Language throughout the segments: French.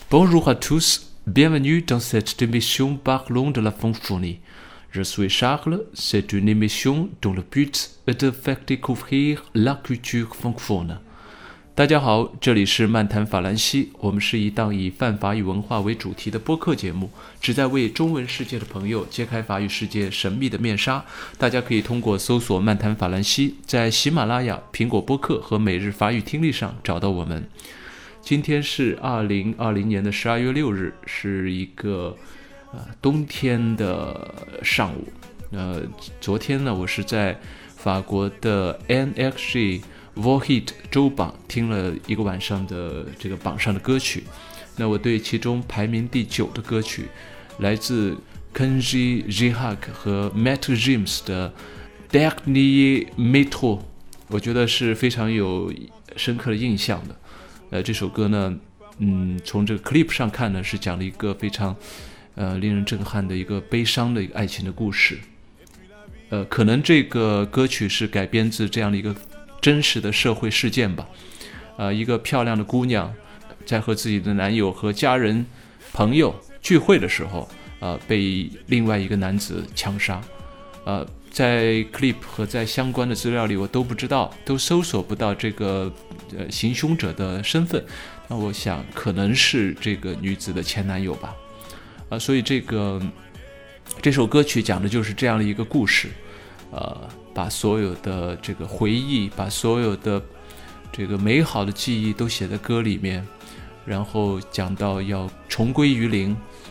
Bonjour à tous, bienvenue dans cette émission Parlons de la Francophonie. Je suis Charles, c'est une émission dont le but est de faire découvrir la culture francophone. 大家好，这里是漫谈法兰西，我们是一档以泛法语文化为主题的播客节目，旨在为中文世界的朋友揭开法语世界神秘的面纱。大家可以通过搜索漫谈法兰西，在喜马拉雅、苹果播客和每日法语听力上找到我们。今天是2020年的12月6日，是一个冬天的上午。昨天呢，我是在法国的 NXG Vohit 周榜听了一个晚上的这个榜上的歌曲。那我对其中排名第9的歌曲，来自 Kenji Girac 和 Maître Gims 的 Dernier Métro， 我觉得是非常有深刻的印象的。这首歌呢，从这个 clip 上看呢，是讲了一个非常令人震撼的一个悲伤的一个爱情的故事。可能这个歌曲是改编自这样的一个真实的社会事件吧。一个漂亮的姑娘在和自己的男友和家人朋友聚会的时候，被另外一个男子枪杀。在 clip 和在相关的资料里我都不知道，都搜索不到这个行凶者的身份。那我想可能是这个女子的前男友吧。所以这首歌曲讲的就是这样的一个故事。把所有的这个回忆，把所有的这个美好的记忆都写在歌里面，然后讲到要重归于零，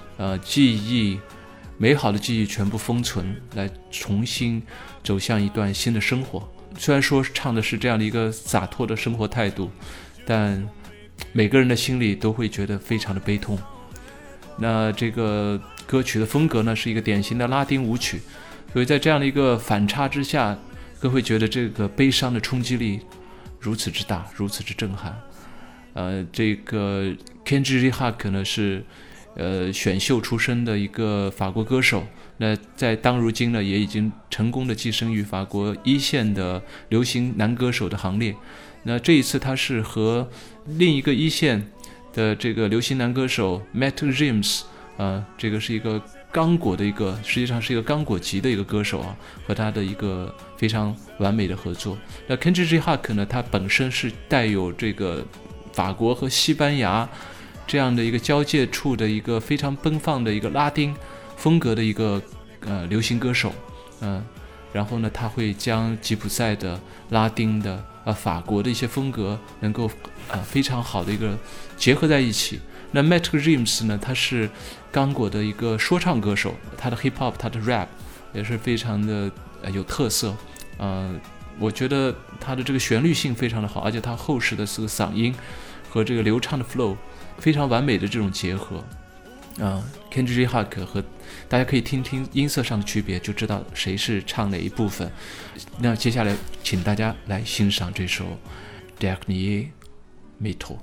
美好的记忆全部封存，来重新走向一段新的生活。虽然说唱的是这样的一个洒脱的生活态度，但每个人的心里都会觉得非常的悲痛。那这个歌曲的风格呢，是一个典型的拉丁舞曲，所以在这样的一个反差之下，各位会觉得这个悲伤的冲击力如此之大，如此之震撼。这个 Kenji Girac 呢是选秀出身的一个法国歌手，那在当如今呢也已经成功的跻身于法国一线的流行男歌手的行列。那这一次他是和另一个一线的这个流行男歌手 Maître Gims， 这个是一个刚果的一个，实际上是一个刚果籍的一个歌手和他的一个非常完美的合作。那 Kenji Girac 呢，他本身是带有这个法国和西班牙这样的一个交界处的一个非常奔放的一个拉丁风格的一个流行歌手。然后呢，他会将吉普赛的、拉丁的、法国的一些风格能够非常好的一个结合在一起。那 Maître Gims 呢，他是刚果的一个说唱歌手，他的 hip hop， 他的 rap 也是非常的有特色。我觉得他的这个旋律性非常的好，而且他厚实的这个嗓音和这个流畅的 flow 非常完美的这种结合。Kenji Girac 和大家可以听听音色上的区别，就知道谁是唱哪一部分。那接下来请大家来欣赏这首 Dernier Métro。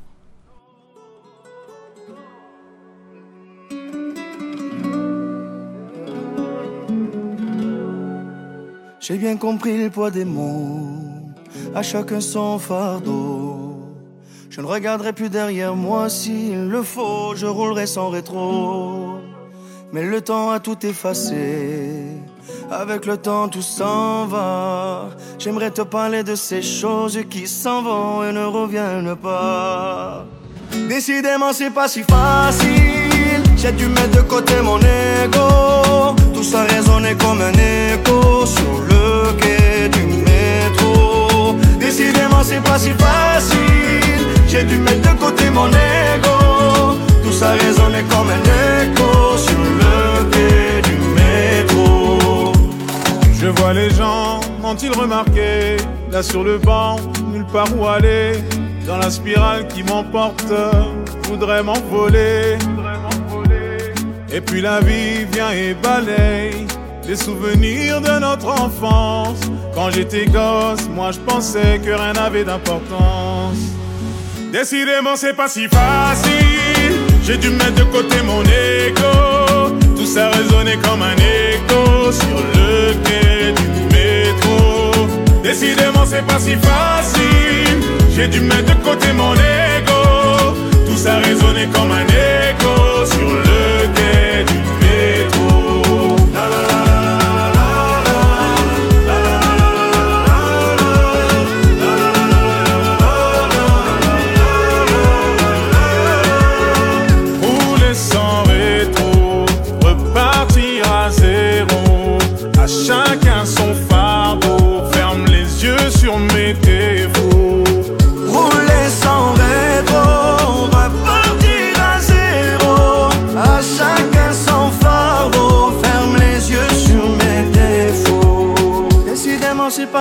J'ai bien compris le poids des mots, à chacun son fardeau. Je ne regarderai plus derrière moi s'il le faut, je roulerai sans rétro. Mais le temps a tout effacé, avec le temps tout s'en va. J'aimerais te parler de ces choses qui s'en vont et ne reviennent pas. Décidément c'est pas si facile, j'ai dû mettre de côté mon ego. Tout ça résonnait comme un écho sur le quai du métro. Décidément c'est pas si facile, j'ai dû mettre de côté mon ego. Tout ça résonnait comme un écho sur le quai du métro. Je vois les gens, ont-ils remarqué? Là sur le banc, nulle part où aller. Dans la spirale qui m'emporte, je voudrais m'envoler. Et puis la vie vient et balaye les souvenirs de notre enfance. Quand j'étais gosse, moi je pensais que rien n'avait d'importance. Décidément c'est pas si facile, j'ai dû mettre de côté mon ego. Tout ça résonnait comme un écho sur le quai du métro. Décidément c'est pas si facile, j'ai dû mettre de côté mon ego. Tout ça résonnait comme un écho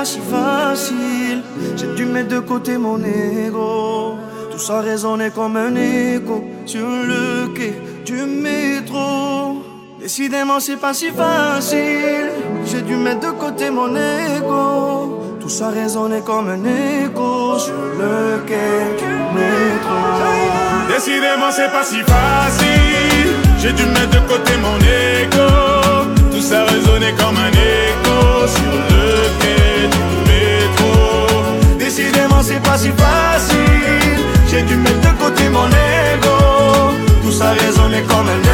pas si facile. J'ai dû mettre de côté mon ego. Tout ça résonnait comme un écho sur le quai du métro. Décidément c'est pas si facile. J'ai dû mettre de côté mon ego. Tout ça résonnait comme un écho sur le quai du métro. Décidément c'est pas si facile. J'ai dû mettre de côté mon ego. Tout ça résonnait comme un écho sur le quai du métro. Décidément c'est pas si facile. J'ai dû mettre de côté mon ego. Tout ça résonnait comme un écho